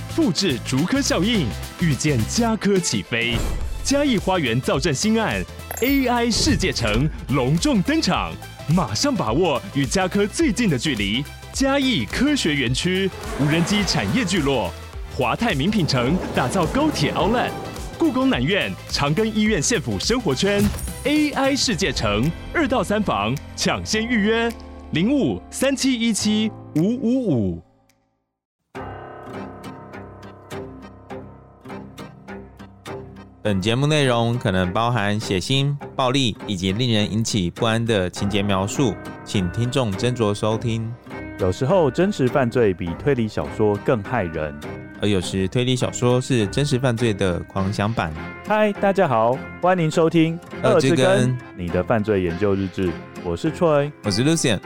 複製竹科效應，預見家科起飛。嘉義花園造鎮新案 AI 世界城隆重登場，馬上把握與家科最近的距離。嘉義科學園區無人機產業聚落，華泰名品城打造高鐵 Outlet， 故宮南院長庚醫院縣府生活圈 AI 世界城2到3房搶先預約0537175555。 本節目內容可能包含血腥、暴力以及令人引起不安的情節描述，請聽眾斟酌收聽。 有時候真實犯罪比推理小說更駭人， 而有時推理小說是真實犯罪的狂想版。 嗨，大家好，歡迎收聽惡之根你的犯罪研究日誌，我是 Troy， 我是 Lucien。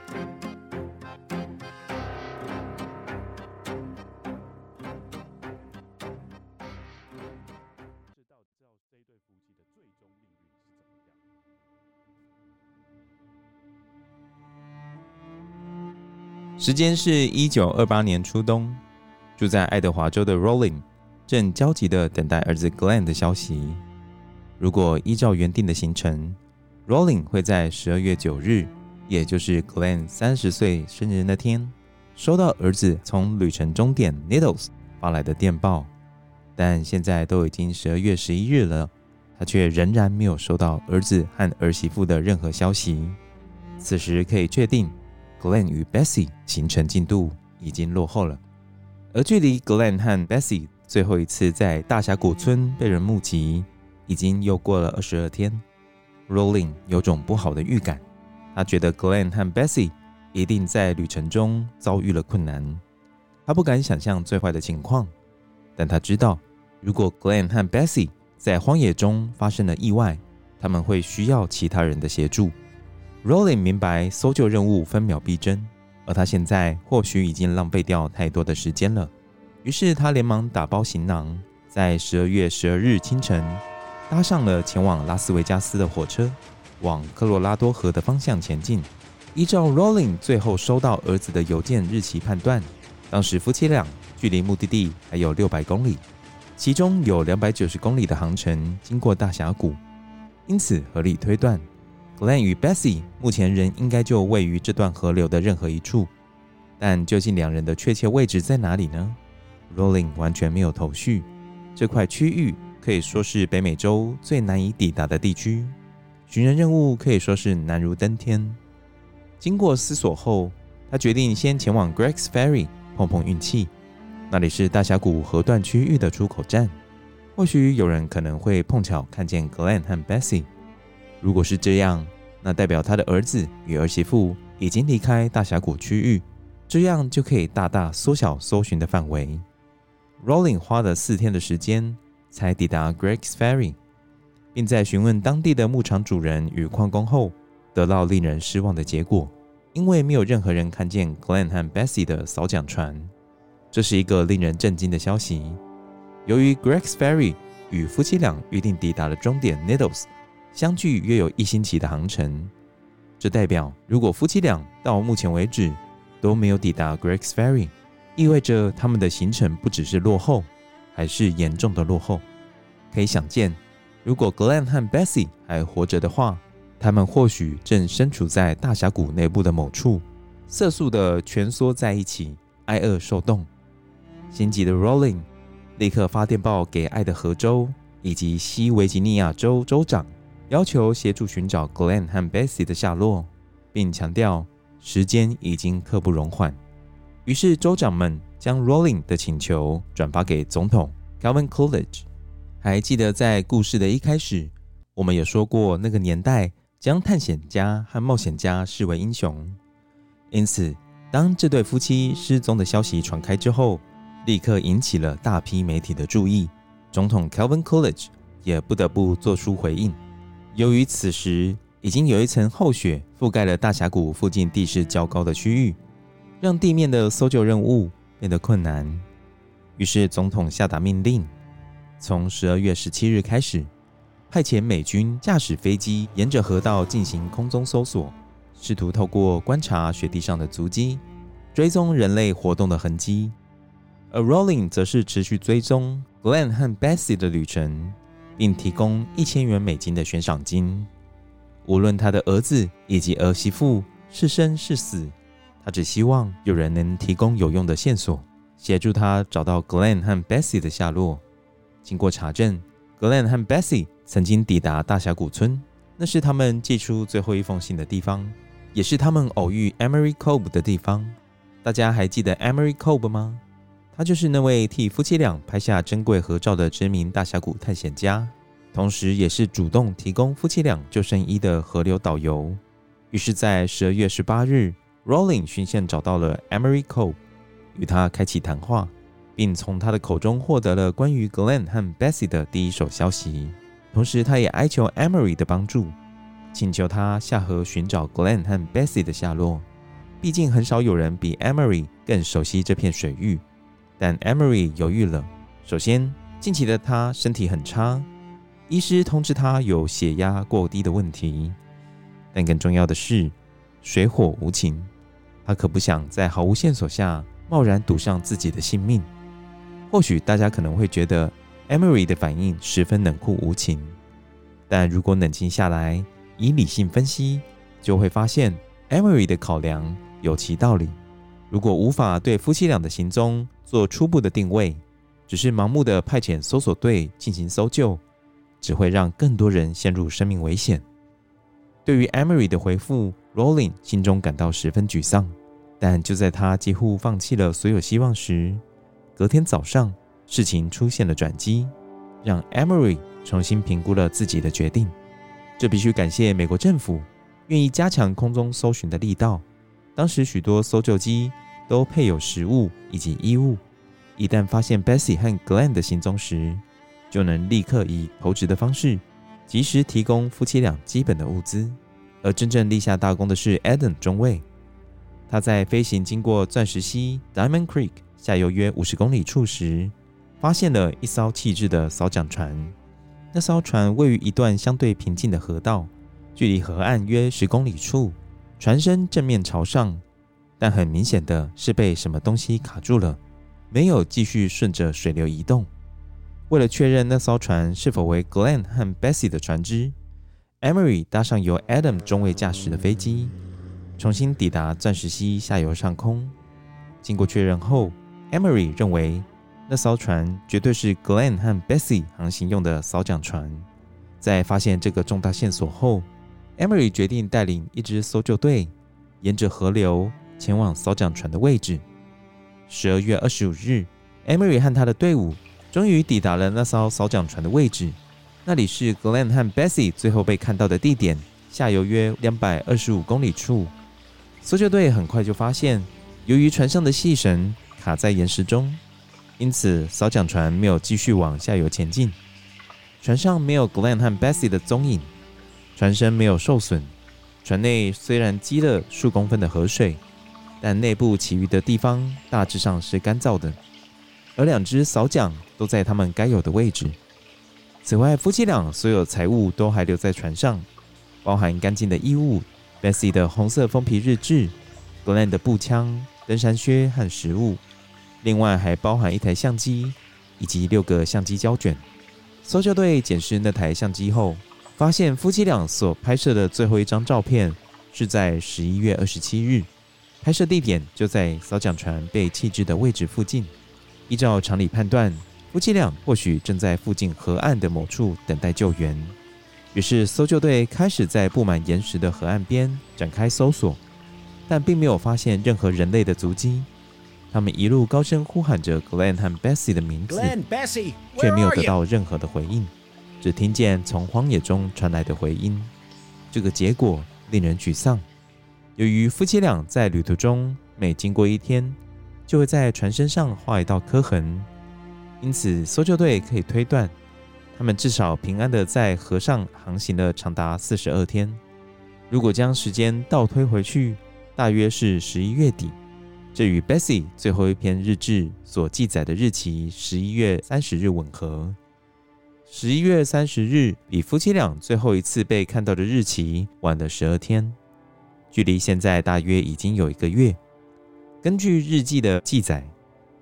时間是1928年初冬，住在愛德華州的 Rolling 正焦急地等待兒子 Glenn 的消息。如果依照原定的行程， Rolling 會在12月9日，也就是 Glenn 30歲生日那天，收到兒子從旅程終點 Needles 發來的電報。但現在都已經12月11日了，他卻仍然沒有收到兒子和兒媳婦的任何消息。此時可以確定Glenn 與 Bessie 行程進度已經落後了，而距離 Glenn 和 Bessie 最後一次在大峽谷村被人目擊，已經又過了22天。Rolling 有種不好的預感，他覺得 Glenn 和 Bessie 一定在旅程中遭遇了困難。他不敢想象最壞的情況，但他知道，如果 Glenn 和 Bessie 在荒野中發生了意外，他們會需要其他人的協助。Rolling 明白搜救任務分秒必爭，而他現在或許已經浪費掉太多的時間了。於是他連忙打包行囊，在12月12日清晨搭上了前往拉斯維加斯的火車，往科羅拉多河的方向前進。依照 Rolling 最後收到兒子的郵件日期判斷，當時夫妻倆距離目的地還有600公里，其中有290公里的航程經過大峽谷，因此合理推斷Glenn 與 Bessie 目前仍應該就位於這段河流的任何一處，但究竟兩人的確切位置在哪裡呢？ Rolling 完全沒有頭緒。這塊區域可以說是北美洲最難以抵達的地區，尋人任務可以說是難如登天。經過思索後，他決定先前往 Greg's Ferry 碰碰運氣，那裡是大峽谷河段區域的出口站，或許有人可能會碰巧看見 Glenn 和 Bessie。如果是這樣，那代表他的兒子與兒媳婦已經離開大峽谷區域，這樣就可以大大縮小搜尋的範圍。Rolling 花了4天的時間才抵達 Greg's Ferry， 並在詢問當地的牧場主人與礦工後，得到令人失望的結果，因為沒有任何人看見 Glenn 和 Bessie 的掃獎船。這是一個令人震驚的消息。由於 Greg's Ferry 與夫妻倆預定抵達的終點 Needles相距約有1星期的航程，這代表如果夫妻倆到目前為止都沒有抵達 Greg's Ferry， 意味着他們的行程不只是落後，還是嚴重的落後。可以想見，如果 Glenn 和 Bessie 還活着的話，他們或許正身處在大峽谷內部的某處，瑟縮地蜷縮在一起，挨餓受凍。心急的 Rolling 立刻發電報給愛德荷州以及西維吉尼亞州州長，要求協助尋找 Glenn 和 Bessie 的下落，並強調時間已經刻不容緩。於是州長們將 Rolling 的請求轉發給總統 Calvin Coolidge。還記得在故事的一開始，我們有說過那個年代將探險家和冒險家視為英雄，因此當這對夫妻失蹤的消息傳開之後，立刻引起了大批媒體的注意，總統 Calvin Coolidge 也不得不做出回應。由於此時已經有一層厚雪覆蓋了大峽谷附近地勢較高的區域，讓地面的搜救任務變得困難。於是總統下達命令，從12月17日開始，派遣美軍駕駛飛機沿着河道進行空中搜索，試圖透過觀察雪地上的足跡，追蹤人類活動的痕跡。 而 Rowling 則是持續追蹤 Glenn 和 Bessie 的旅程，並提供$1000元的懸賞金。無論他的兒子以及兒媳婦是生是死，他只希望有人能提供有用的線索，協助他找到 Glenn 和 Bessie 的下落。經過查證， Glenn 和 Bessie 曾經抵達大峽谷村，那是他們寄出最後一封信的地方，也是他們偶遇 Emery Cobb 的地方。大家還記得 Emery Cobb 嗎？他就是那位替夫妻倆拍下珍貴合照的知名大峽谷探險家，同時也是主動提供夫妻倆救生衣的河流導遊。於是在12月18日 Rowling 循線找到了 Emery Cobb， 與他開啟談話，並從他的口中獲得了關於 Glenn 和 Bessie 的第一手消息。同時他也哀求 Emery 的幫助，請求他下河尋找 Glenn 和 Bessie 的下落。畢竟很少有人比 Emery 更熟悉這片水域。但 Emery 猶豫了。首先，近期的他身體很差，醫師通知他有血壓過低的問題。但更重要的是，水火無情，他可不想在毫無線索下貿然賭上自己的性命。或許大家可能會覺得 Emery 的反應十分冷酷無情，但如果冷靜下來，以理性分析，就會發現 Emery 的考量有其道理。如果無法對夫妻倆的行蹤做初步的定位，只是盲目的派遣搜索隊進行搜救，只會讓更多人陷入生命危險。對於 Emery 的回復， Rowling 心中感到十分沮喪。但就在他幾乎放棄了所有希望時，隔天早上事情出現了轉機，讓 Emery 重新評估了自己的決定。這必須感謝美國政府願意加強空中搜尋的力道。當時許多搜救機都配有食物以及衣物，一旦發現 Bessie 和 Glenn 的行蹤時，就能立刻以投擲的方式及時提供夫妻倆基本的物資。而真正立下大功的是 Adam 中尉，他在飛行經過鑽石溪 Diamond Creek 下游約50公里處時，發現了一艘棄置的掃槳船。那艘船位於一段相對平靜的河道，距離河岸約10公里處，船身正面朝上，但很明顯的是被什麼東西卡住了，沒有繼續順着水流移動。為了確認那艘船是否為 Glenn 和 Bessie 的船隻， Emery 搭上由 Adam 中尉駕駛的飛機，重新抵達鑽石溪下游上空。經過確認後， Emery 認為那艘船絕對是 Glenn 和 Bessie 航行用的掃槳船。在發現這個重大線索後， Emery 決定帶領一支搜救隊沿着河流前往掃槳船的位置。12月25日 Emery 和他的隊伍終於抵達了那艘掃槳船的位置，那裡是 Glenn 和 Bessie 最後被看到的地點，下游約225公里處。搜救隊很快就發現，由於船上的細繩卡在岩石中，因此掃槳船沒有繼續往下游前進。船上沒有 Glenn 和 Bessie 的蹤影，船身沒有受損，船內雖然積了數公分的河水，但內部其餘的地方大致上是乾燥的，而2隻掃槳都在他們該有的位置。此外，夫妻倆所有財物都還留在船上，包含乾淨的衣物、Bessie 的紅色封皮日誌、Glenn 的步槍、登山靴和食物，另外還包含1台相機以及6個相機膠卷。搜救隊檢視那台相機後，發現夫妻倆所拍攝的最後一張照片是在11月27日，拍攝地點就在掃槳船被棄置的位置附近。依照常理判斷，夫妻倆或許正在附近河岸的某處等待救援。於是搜救隊開始在布滿岩石的河岸邊展開搜索，但並沒有發現任何人類的足跡。他們一路高聲呼喊着 Glenn 和 Bessie 的名字， Glenn, Bessie, 卻沒有得到任何的回應，只聽見從荒野中傳來的回音。這個結果令人沮喪。由於夫妻倆在旅途中每經過一天，就會在船身上畫一道刻痕，因此搜救隊可以推斷，他們至少平安地在河上航行了長達42天。如果將時間倒推回去，大約是11月底，這與 Bessie 最後一篇日誌所記載的日期11月30日吻合。11月30日比夫妻倆最後一次被看到的日期晚了12天，距離現在大約已經有1個月。根據日記的記載，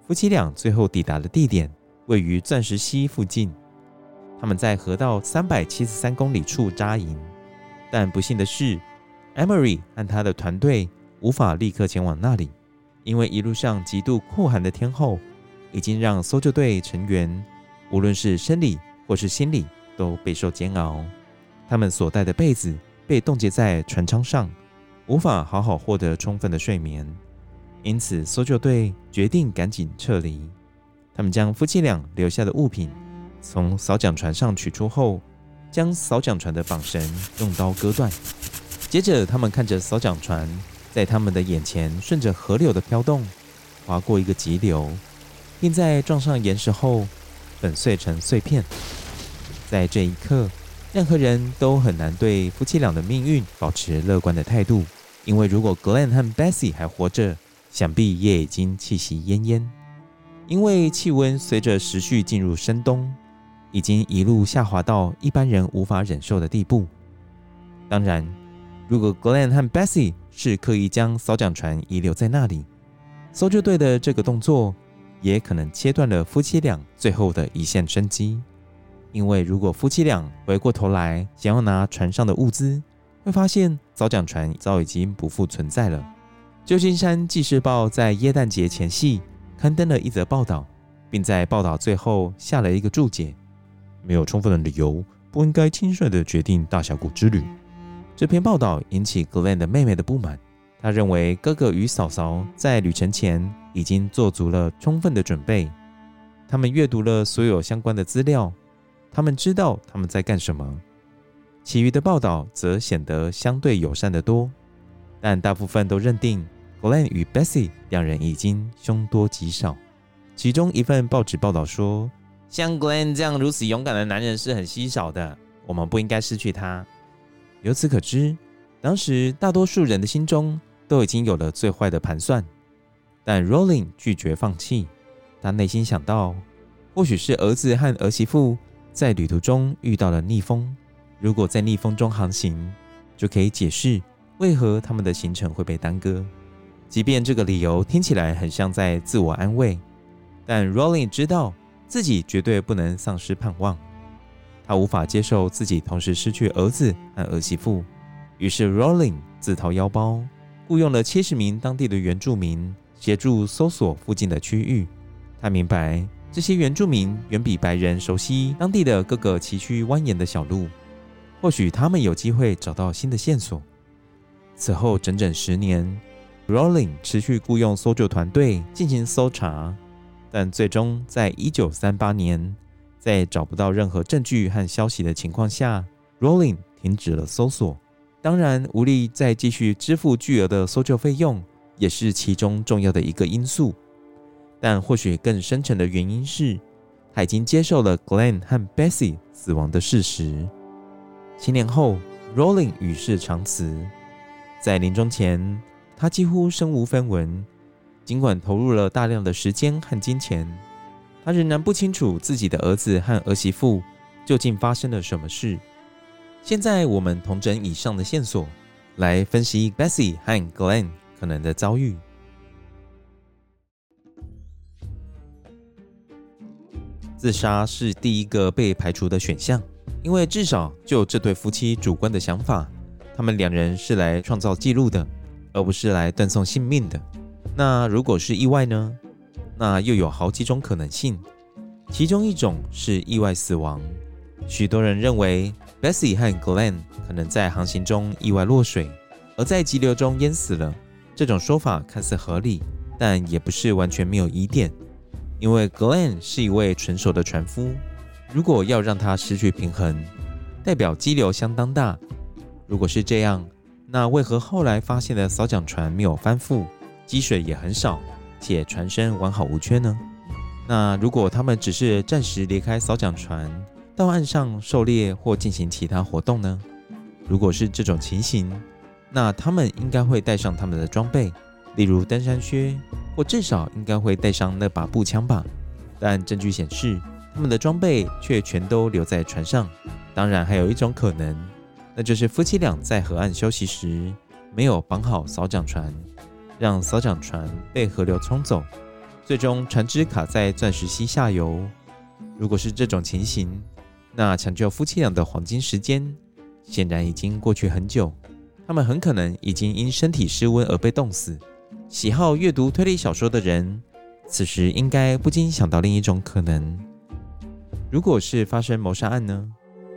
夫妻倆最後抵達的地點位於鑽石溪附近。他們在河道373公里處紮營，但不幸的是 ，Emery 和他的團隊無法立刻前往那裡，因為一路上極度酷寒的天候已經讓搜救隊成員無論是生理或是心理都備受煎熬。他們所帶的被子被凍結在船艙上，無法好好獲得充分的睡眠，因此搜救隊決定趕緊撤離。他們將夫妻倆留下的物品從掃槳船上取出後，將掃槳船的綁繩用刀割斷。接着他們看着掃槳船在他們的眼前順着河流的飄動，劃過一個急流，並在撞上岩石後粉碎成碎片。在這一刻，任何人都很難對夫妻倆的命運保持樂觀的態度，因為如果 Glenn 和 Bessie 還活着，想必也已經氣息奄奄。因為氣溫隨着時序進入深冬，已經一路下滑到一般人無法忍受的地步。當然，如果 Glenn 和 Bessie 是刻意將掃槳船遺留在那裡，搜救隊的這個動作也可能切斷了夫妻倆最後的一線生機。因為如果夫妻倆回過頭來想要拿船上的物資，會發現掃槳船早已經不復存在了。舊金山紀事報在耶誕節前夕刊登了一則報道，並在報道最後下了一個注解：沒有充分的理由，不應該輕率地決定大峽谷之旅。這篇報道引起 Glenn 的妹妹的不滿，她認為哥哥與嫂嫂在旅程前已經做足了充分的準備，他們閱讀了所有相關的資料，他們知道他們在幹什麼。其餘的報道則顯得相對友善得多，但大部分都認定Glenn 與 Bessie 兩人已經凶多吉少。其中一份報紙報道說，像 Glenn 這樣如此勇敢的男人是很稀少的，我們不應該失去他。由此可知，當時大多數人的心中都已經有了最壞的盤算，但 Rowling 拒絕放棄。他內心想到，或許是兒子和兒媳婦在旅途中遇到了逆風，如果在逆風中航行，就可以解釋為何他們的行程會被耽擱。即便這個理由聽起來很像在自我安慰，但 Rowling 知道自己絕對不能喪失盼望。他無法接受自己同時失去兒子和兒媳婦，於是 Rowling 自掏腰包，僱傭了70名當地的原住民協助搜索附近的區域。他明白，這些原住民遠比白人熟悉當地的各個崎嶇蜿蜒的小路，或許他們有機會找到新的線索。此後整整10年，Rowling 持續僱傭搜救團隊進行搜查，但最終在1938年，在找不到任何證據和消息的情況下， Rowling 停止了搜索。當然，無力再繼續支付巨額的搜救費用也是其中重要的一個因素，但或許更深層的原因是他已經接受了 Glenn 和 Bessie 死亡的事實。7年後， Rowling 與世長辭，在臨終前他幾乎身無分文，儘管投入了大量的時間和金錢，他仍然不清楚自己的兒子和兒媳婦究竟發生了什麼事。現在我們統整以上的線索，來分析 Bessie 和 Glenn 可能的遭遇。自殺是第一個被排除的選項，因為至少就這對夫妻主觀的想法，他們兩人是來創造記錄的，而不是來斷送性命的。那如果是意外呢？那又有好幾種可能性，其中一種是意外死亡。許多人認為 Bessie 和 Glenn 可能在航行中意外落水，而在急流中淹死了。這種說法看似合理，但也不是完全沒有疑點，因為 Glenn 是一位純熟的船夫，如果要讓他失去平衡，代表激流相當大。如果是這樣，那為何後來發現的掃槳船沒有翻覆，積水也很少，且船身完好無缺呢？那如果他們只是暫時離開掃槳船，到岸上狩獵或進行其他活動呢？如果是這種情形，那他們應該會帶上他們的裝備，例如登山靴，或至少應該會帶上那把步槍吧。但證據顯示，他們的裝備卻全都留在船上。當然，還有一種可能，那就是夫妻倆在河岸休息時沒有綁好掃槳船，讓掃槳船被河流沖走， 最終船只卡在鑽石溪下游。如果是這種情形，那搶救夫妻倆的黃金時間顯然已經過去很久，他們很可能已經因身體失溫而被凍死。喜好閱讀推理小說的人，此時應該不禁想到另一種可能：如果是發生謀殺案呢？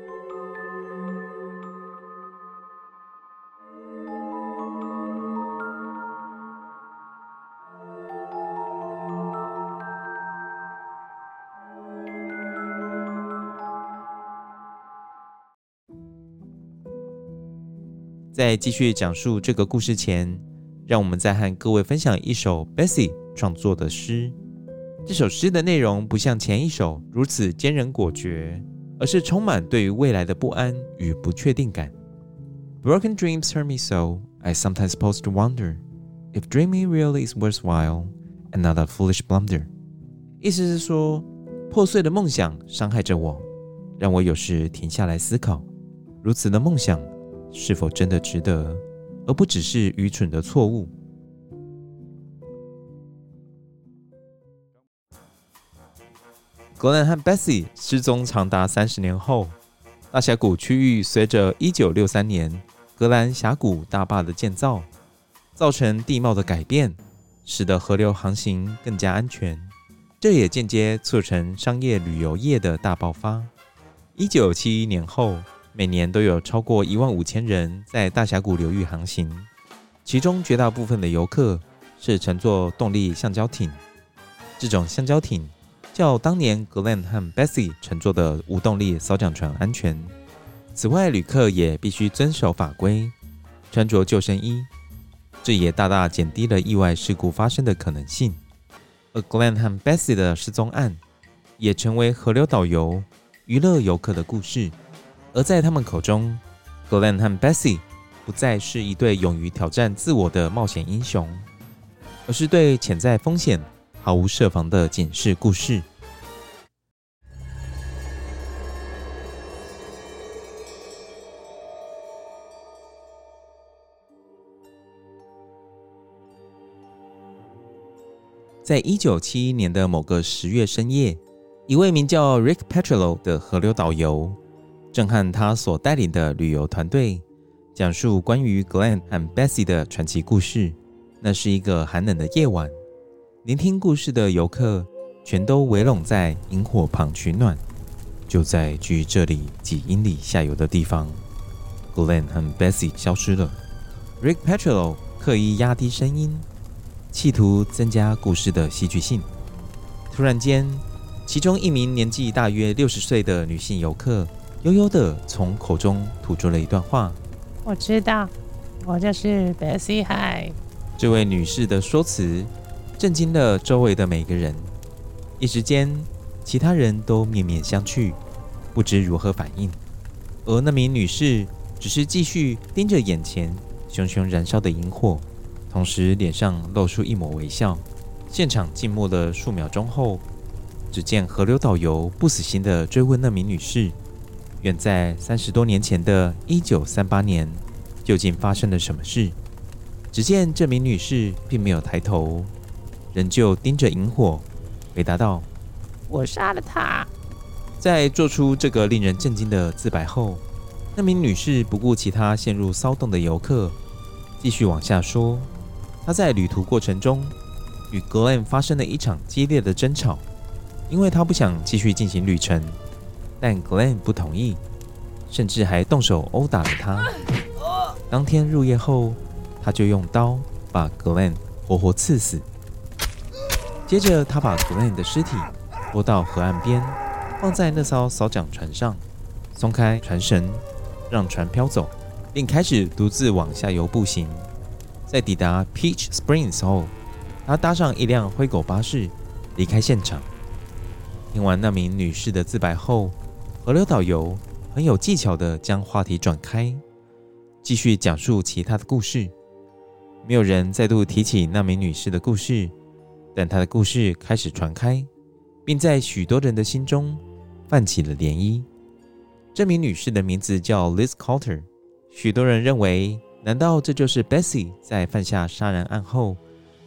在繼續講述這個故事前，讓我們再和各位分享一首 Bessie 創作的詩。這首詩的內容不像前一首如此堅韌果決，而是充滿對於未來的不安與不確定感。Broken dreams hurt me so, I sometimes pause to wonder if dreaming really is worthwhile and not a foolish blunder. 意思是說，破碎的夢想傷害着我，讓我有時停下來思考，如此的夢想是否真的值得，而不只是愚蠢的錯誤。格蘭和 Bessie 失蹤長達30年後，大峽谷區域隨着1963年格蘭峽谷大壩的建造，造成地貌的改變，使得河流航行更加安全。這也間接促成商業旅遊業的大爆發。1971年後，每年都有超過15000人在大峽谷流域航行，其中絕大部分的遊客是乘坐動力橡膠艇。這種橡膠艇較當年格蘭和 Bessie 乘坐的無動力掃槳船安全。此外，旅客也必須遵守法規，穿着救生衣，這也大大減低了意外事故發生的可能性。而 Glenn 和 Bessie 的失蹤案也成為河流導遊娛樂遊客的故事。而在他們口中， Glenn 和 Bessie 不再是一對勇於挑戰自我的冒險英雄，而是對潛在風險毫無設防的警示故事。在1971年的某個10月深夜，一位名叫 Rick Petrello 的河流導遊正和他所帶領的旅遊團隊講述關於 Glenn 和 Bessie 的傳奇故事。那是一個寒冷的夜晚，聆聽故事的遊客全都圍攏在營火旁取暖。就在距這裡幾英里下游的地方， Glenn 和 Bessie 消失了。Rick Petrello 刻意壓低聲音，企圖增加故事的戲劇性。突然間，其中一名年紀大約60歲的女性遊客悠悠地從口中吐出了一段話： 我知道，我就是 Bessie High。 這位女士的說辭震驚了周圍的每個人，一時間，其他人都面面相覷，不知如何反應。而那名女士只是繼續盯着眼前熊熊燃燒的營火，同時臉上露出一抹微笑。現場靜默了數秒鐘後，只見河流導遊不死心地追問那名女士，遠在30多年前的1938年，究竟發生了什麼事？只見這名女士並沒有抬頭，仍舊盯着營火，回答道： 我殺了他。 在做出這個令人震驚的自白後，那名女士不顧其他陷入騷動的遊客，繼續往下說，她在旅途過程中與 Glenn 發生了一場激烈的爭吵，因為她不想繼續進行旅程，但 Glenn 不同意，甚至還動手毆打了她。當天入夜後，他就用刀把 Glenn 活活刺死。接着，他把 Glenn 的屍體拖到河岸邊，放在那艘掃槳船上，鬆開船繩，讓船飄走，並開始獨自往下游步行。在抵達 Peach Springs 後，他搭上一輛灰狗巴士離開現場。聽完那名女士的自白後，河流導遊很有技巧地將話題轉開，繼續講述其他的故事。沒有人再度提起那名女士的故事，但她的故事開始傳開，並在許多人的心中泛起了漣漪。這名女士的名字叫 Liz Carter， 許多人認為，難道這就是 Bessie 在犯下殺人案後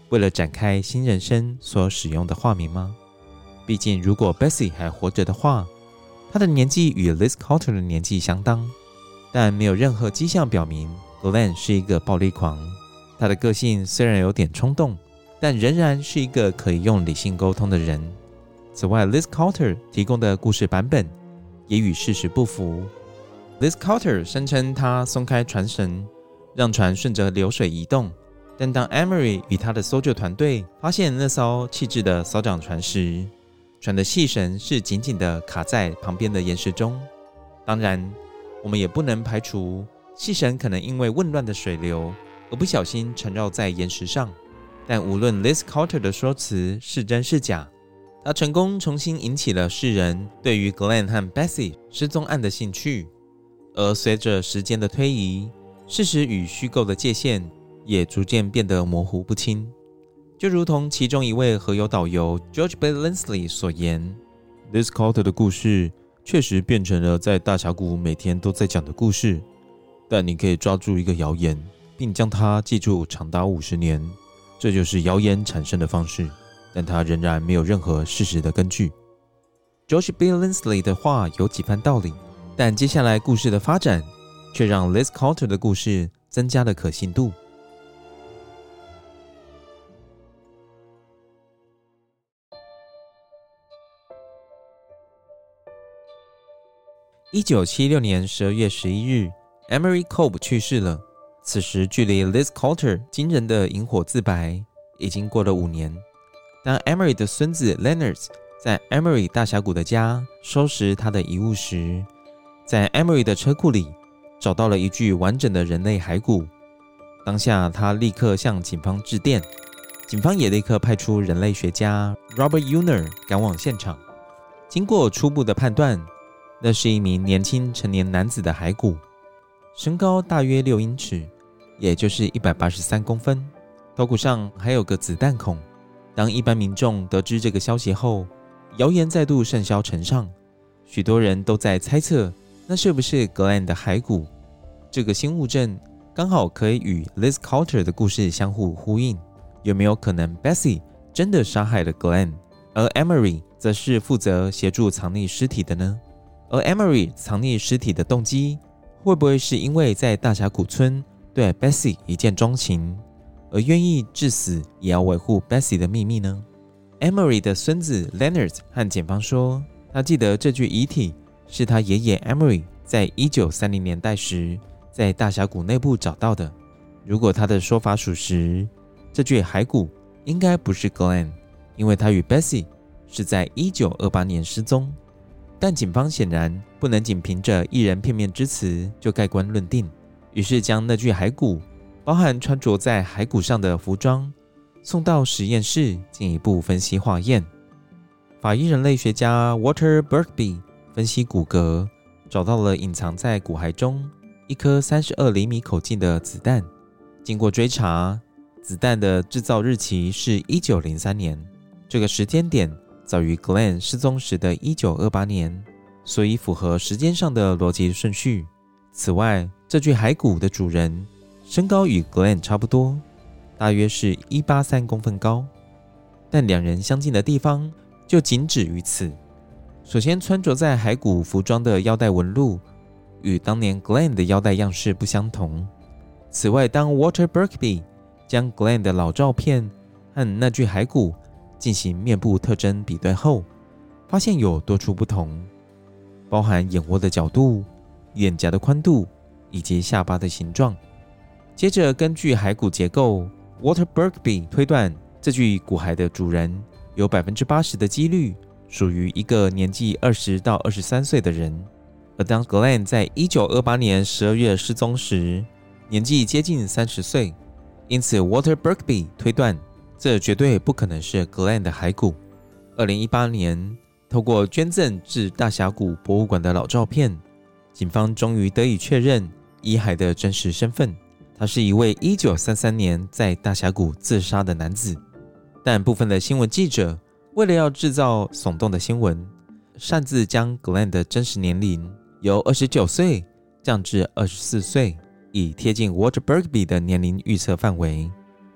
為了展開新人生所使用的化名嗎？畢竟如果 Bessie 還活着的話，她的年紀與 Liz Carter 的年紀相當，但沒有任何跡象表明 Glenn 是一個暴力狂。他的個性雖然有點衝動，但仍然是一個可以用理性溝通的人。此外 Liz Carter 提供的故事版本也與事實不符。Liz Carter 聲稱他鬆開船繩，讓船順着流水移動，但當 Emery 與他的搜救團隊發現那艘棄置的掃桿船時，船的細繩是緊緊地卡在旁邊的岩石中。當然，我們也不能排除細繩可能因為混亂的水流而不小心纏繞在岩石上。但無論 Liz Carter 的說辭是真是假，他成功重新引起了世人對於 Glenn 和 Bessie 失蹤案的興趣。而隨着時間的推移，事實與虛構的界限也逐漸變得模糊不清。就如同其中一位河遊導遊 George B. Linsley 所言， Liz Carter 的故事確實變成了在大峽谷每天都在講的故事，但你可以抓住一個謠言，並將它記住長達50年，這就是謠言產生的方式，但它仍然沒有任何事實的根據。 George B. Linsley 的話有幾番道理，但接下來故事的發展卻讓 Liz Carter 的故事增加了可信度。1976年12月11日 Emery Cope 去世了。此時距離 Liz Carter 驚人的引火自白已經過了5年。當 Emery 的孫子 Leonard 在 Emery 大峽谷的家收拾他的遺物時，在 Emery 的車庫裡找到了一具完整的人類骸骨。當下他立刻向警方致電，警方也立刻派出人類學家 Robert Uner 趕往現場。經過初步的判斷，那是一名年輕成年男子的骸骨，身高大約6英尺，也就是183公分，头骨上還有個子彈孔。當一般民眾得知這個消息後，謠言再度甚囂塵上，許多人都在猜測那是不是 Glenn 的骸骨。這個新物證剛好可以與 Liz Carter 的故事相互呼應。有沒有可能 Bessie 真的殺害了 Glenn， 而 Emery 則是負責協助藏匿屍體的呢？而 Emery 藏匿屍體的動機，會不會是因為在大峽谷村對 Bessie 一見鍾情，而願意至死也要維護 Bessie 的秘密呢？ Emery 的孫子 Leonard 和檢方說，他記得這具遺體是他爺爺 Emery 在1930年代時在大峽谷內部找到的。如果他的說法屬實，這具骸骨應該不是 Glenn， 因為他與 Bessie 是在1928年失蹤。但警方顯然不能僅憑着一人片面之詞就蓋棺論定，於是將那具骸骨包含穿着在骸骨上的服裝送到實驗室進一步分析化驗。法醫人類學家 Walter Berkby 分析骨骼，找到了隱藏在骨骸中一顆32厘米口徑的子彈。經過追查，子彈的製造日期是1903年，這個時間點早於 Glenn 失蹤時的1928年，所以符合時間上的邏輯順序。此外，這具骸骨的主人身高與 Glenn 差不多，大約是183公分高，但兩人相近的地方就僅止於此。首先，穿着在骸骨服裝的腰帶紋路與當年 Glenn 的腰帶樣式不相同。此外，當 Walter Berkby 將 Glenn 的老照片和那具骸骨進行面部特徵比對後，發現有多處不同，包含眼窩的角度、臉頰的寬度以及下巴的形狀。接着根據骸骨結構， Walter Berkby 推斷這具骨骸的主人有 80% 的幾率屬於一個年紀20到23歲的人。而當 Glenn 在1928年12月失蹤時，年紀接近30歲，因此 Walter Berkby 推斷這絕對不可能是 Glenn 的骸骨。2018年，透過捐贈至大峽谷博物館的老照片，警方終於得以確認遺骸的真實身份。他是一位1933年在大峽谷自殺的男子。但部分的新聞記者為了要制造聳動的新聞，擅自將 Glenn 的真實年齡由29歲降至24歲，以貼近 Walter Berkby 的年齡預測範圍。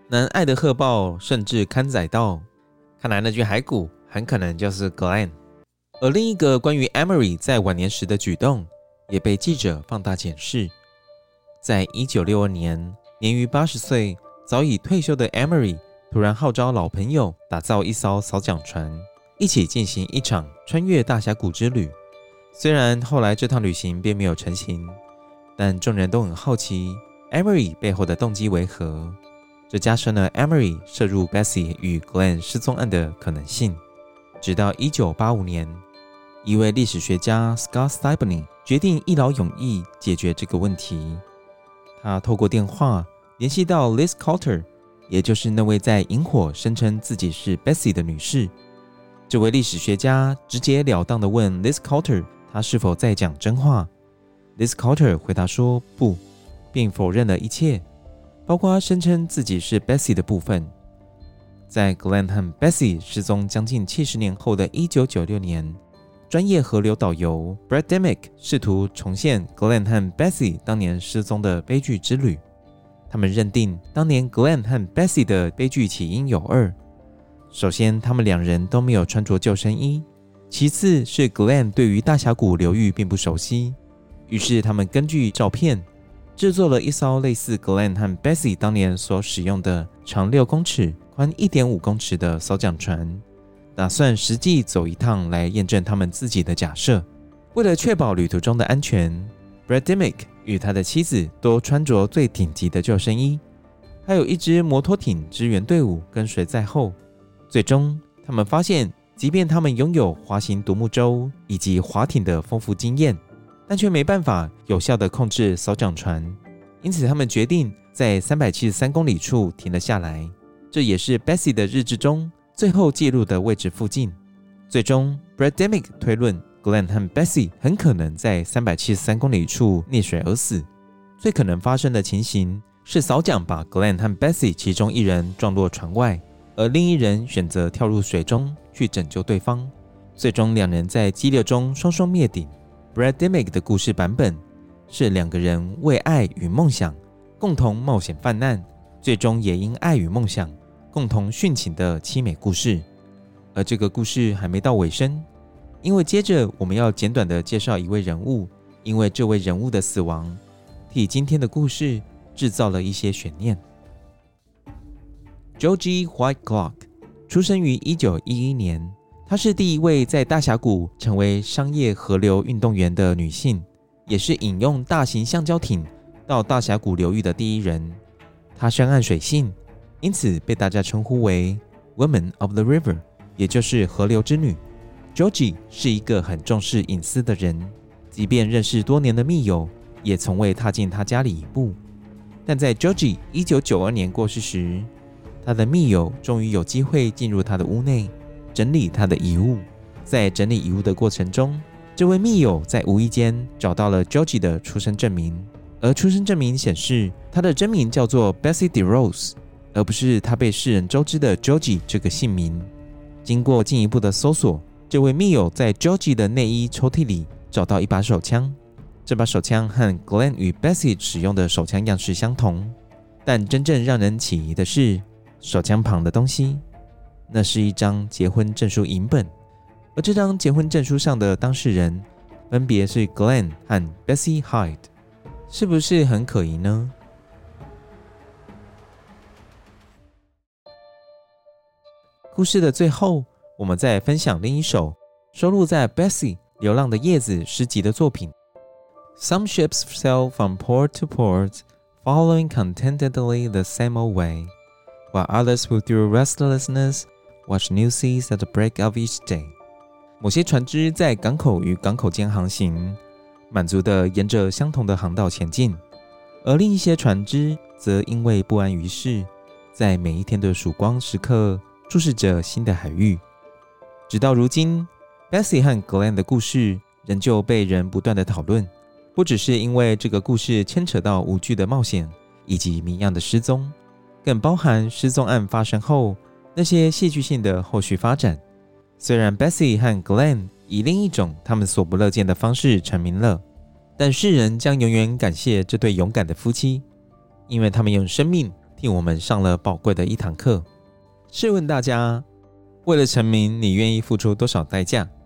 南愛德荷報甚至刊載道，看來那具骸骨很可能就是 Glenn。 而另一個關於 Emery 在晚年時的舉動也被記者放大檢視。在1962年，年逾80歲、早已退休的 Emery 突然號召老朋友打造一艘掃槳船，一起進行一場穿越大峽谷之旅。雖然後來這趟旅行並沒有成行，但眾人都很好奇 Emery 背後的動機為何，這加深了 Emery 涉入 Bessie 與 Glenn 失蹤案的可能性。直到1985年，一位歷史學家 Scott Stibney 決定一勞永逸解決這個問題。他透過電話聯繫到 Liz Coulter， 也就是那位在營火聲稱自己是 Bessie 的女士。這位歷史學家直截了當地問 Liz Coulter 她是否在講真話。Liz Coulter 回答說不，並否認了一切，包括聲稱自己是 Bessie 的部分。在 Glenn 和 Bessie 失蹤將近70年後的1996年，專業河流導遊 Brad Dimick 試圖重現 Glenn 和 Bessie 當年失蹤的悲劇之旅。他們認定當年 Glenn 和 Bessie 的悲劇起因有二：首先，他們兩人都沒有穿着救生衣；其次是 Glenn 對於大峽谷流域並不熟悉。於是他們根據照片制作了一艘類似 Glenn 和 Bessie 當年所使用的長6公尺、寬1.5公尺的掃槳船，打算實際走一趟來驗證他們自己的假設。為了確保旅途中的安全， Brad Dimick 與他的妻子都穿着最頂級的救生衣，還有一支摩托艇支援隊伍跟隨在後。最終他們發現，即便他們擁有滑行獨木舟以及划艇的豐富經驗，但卻沒辦法有效地控制掃槳船，因此他們決定在373公里處停了下來，這也是 Bessie 的日誌中最後記錄的位置附近。最終 Brad Dimick 推論 Glenn 和 Bessie 很可能在373公里處溺水而死。最可能發生的情形是掃槳把 Glenn 和 Bessie 其中一人撞落船外，而另一人選擇跳入水中去拯救對方。最終兩人在激流中雙雙滅頂。Brad Dimick 的故事版本是兩個人為愛與夢想共同冒險犯難，最終也因愛與夢想共同殉情的淒美故事。而這個故事還沒到尾聲，因為接着我們要簡短的介紹一位人物，因為這位人物的死亡替今天的故事制造了一些懸念。Georgie Whiteclock 出生於1911年，她是第一位在大峽谷成為商業河流運動員的女性，也是引用大型橡胶艇到大峽谷流域的第一人。她深諳水性，因此被大家稱呼為 Women of the River， 也就是河流之女。Georgie 是一個很重視隱私的人，即便認識多年的密友，也從未踏進她家裡一步。但在 Georgie 1992年過世時，他的密友終於有機會進入他的屋內，整理他的遺物。在整理遺物的過程中，這位密友在無意間找到了 Georgie 的出生證明，而出生證明顯示他的真名叫做 Bessie DeRose， 而不是他被世人周知的 Georgie 這個姓名。經過進一步的搜索，這位密友在 Georgie 的內衣抽屜裡找到一把手槍，這把手槍和 Glenn 與 Bessie 使用的手槍樣式相同，但真正讓人起疑的是手槍旁的東西，那是一張結婚證書影本，而這張結婚證書上的當事人分別是 Glenn 和 Bessie Hyde， 是不是很可疑呢？故事的最後，我們再分享另一首收錄在 Bessie 流浪的葉子詩集的作品。Some ships sail from port to port, following contentedly the same old way.While others who through restlessness watch new seas at the break of each day。 某些船只在港口與港口間航行，滿足地沿着相同的航道前進，而另一些船只則因為不安於世，在每一天的曙光時刻注視着新的海域。直到如今， Bessie 和 Glenn 的故事仍舊被人不斷地討論，不只是因為這個故事牽扯到無懼的冒險以及謎樣的失蹤，更包含失蹤案發生後那些戲劇性的後續發展。雖然 Bessie 和 Glenn 以另一種他們所不樂見的方式成名了，但世人將永遠感謝這對勇敢的夫妻，因為他們用生命替我們上了寶貴的一堂課。試問大家，為了成名，你願意付出多少代價？